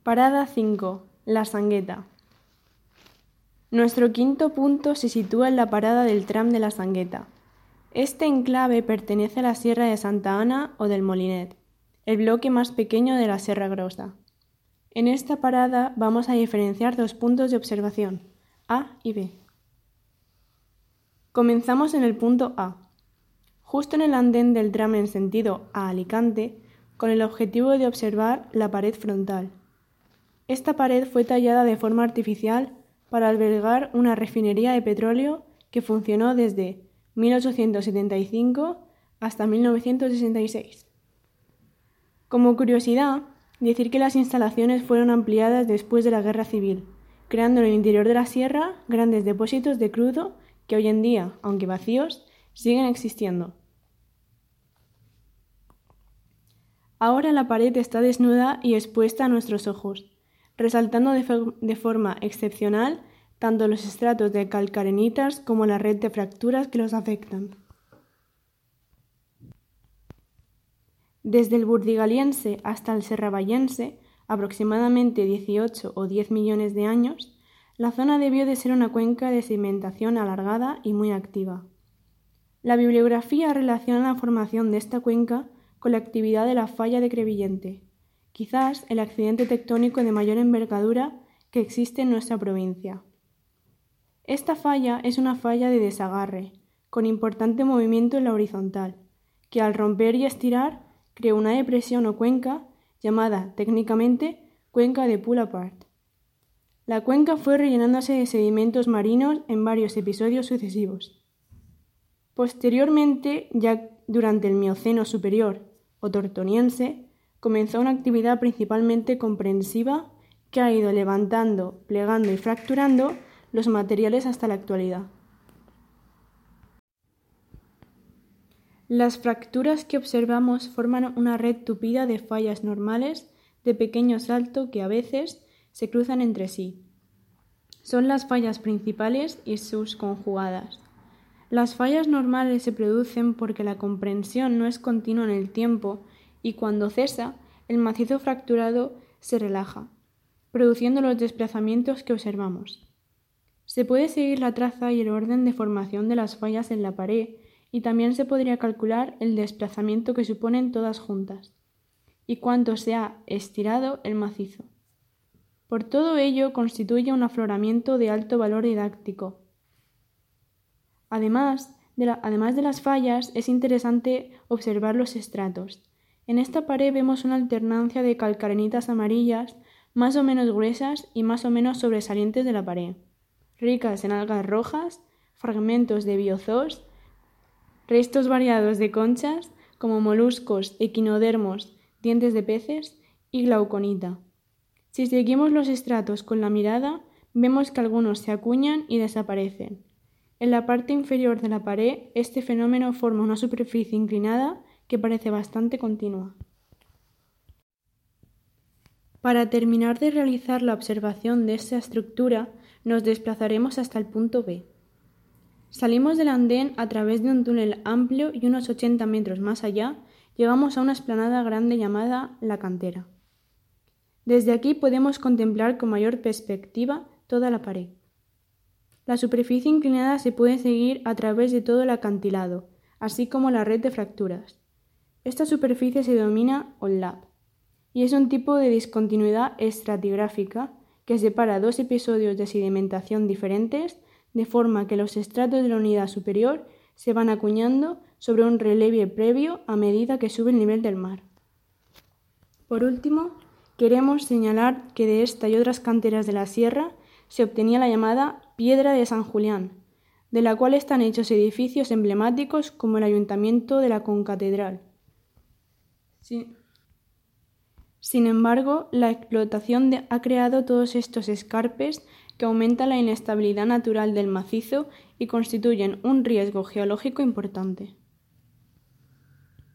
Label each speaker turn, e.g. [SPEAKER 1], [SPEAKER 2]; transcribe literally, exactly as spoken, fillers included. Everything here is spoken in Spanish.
[SPEAKER 1] Parada cinco. La Sangueta. Nuestro quinto punto se sitúa en la parada del tram de La Sangueta. Este enclave pertenece a la Sierra de Santa Ana o del Molinet, el bloque más pequeño de la Serra Grossa. En esta parada vamos a diferenciar dos puntos de observación, A y B. Comenzamos en el punto A, justo en el andén del tram en sentido a Alicante, con el objetivo de observar la pared frontal. Esta pared fue tallada de forma artificial para albergar una refinería de petróleo que funcionó desde mil ochocientos setenta y cinco hasta mil novecientos sesenta y seis. Como curiosidad, decir que las instalaciones fueron ampliadas después de la Guerra Civil, creando en el interior de la sierra grandes depósitos de crudo que hoy en día, aunque vacíos, siguen existiendo. Ahora la pared está desnuda y expuesta a nuestros ojos, resaltando de, for- de forma excepcional tanto los estratos de calcarenitas como la red de fracturas que los afectan. Desde el burdigaliense hasta el serravallense, aproximadamente dieciocho o diez millones de años, la zona debió de ser una cuenca de sedimentación alargada y muy activa. La bibliografía relaciona la formación de esta cuenca con la actividad de la falla de Crevillente, quizás el accidente tectónico de mayor envergadura que existe en nuestra provincia. Esta falla es una falla de desagarre, con importante movimiento en la horizontal, que al romper y estirar creó una depresión o cuenca llamada técnicamente cuenca de pull-apart. La cuenca fue rellenándose de sedimentos marinos en varios episodios sucesivos. Posteriormente, ya durante el Mioceno superior o tortoniense, comenzó una actividad principalmente comprensiva que ha ido levantando, plegando y fracturando los materiales hasta la actualidad. Las fracturas que observamos forman una red tupida de fallas normales de pequeño salto que a veces se cruzan entre sí. Son las fallas principales y sus conjugadas. Las fallas normales se producen porque la comprensión no es continua en el tiempo y cuando cesa, el macizo fracturado se relaja, produciendo los desplazamientos que observamos. Se puede seguir la traza y el orden de formación de las fallas en la pared y también se podría calcular el desplazamiento que suponen todas juntas y cuánto se ha estirado el macizo. Por todo ello constituye un afloramiento de alto valor didáctico. Además de, la, además de las fallas, es interesante observar los estratos. En esta pared vemos una alternancia de calcarenitas amarillas más o menos gruesas y más o menos sobresalientes de la pared, ricas en algas rojas, fragmentos de biozoos, restos variados de conchas como moluscos, equinodermos, dientes de peces y glauconita. Si seguimos los estratos con la mirada, vemos que algunos se acuñan y desaparecen. En la parte inferior de la pared, este fenómeno forma una superficie inclinada que parece bastante continua. Para terminar de realizar la observación de esta estructura, nos desplazaremos hasta el punto B. Salimos del andén a través de un túnel amplio y unos ochenta metros más allá, llegamos a una explanada grande llamada La Cantera. Desde aquí podemos contemplar con mayor perspectiva toda la pared. La superficie inclinada se puede seguir a través de todo el acantilado, así como la red de fracturas. Esta superficie se denomina onlap y es un tipo de discontinuidad estratigráfica que separa dos episodios de sedimentación diferentes de forma que los estratos de la unidad superior se van acuñando sobre un relieve previo a medida que sube el nivel del mar. Por último, queremos señalar que de esta y otras canteras de la sierra se obtenía la llamada Piedra de San Julián, de la cual están hechos edificios emblemáticos como el Ayuntamiento de la Concatedral. Sí. Sin embargo, la explotación de, ha creado todos estos escarpes que aumentan la inestabilidad natural del macizo y constituyen un riesgo geológico importante.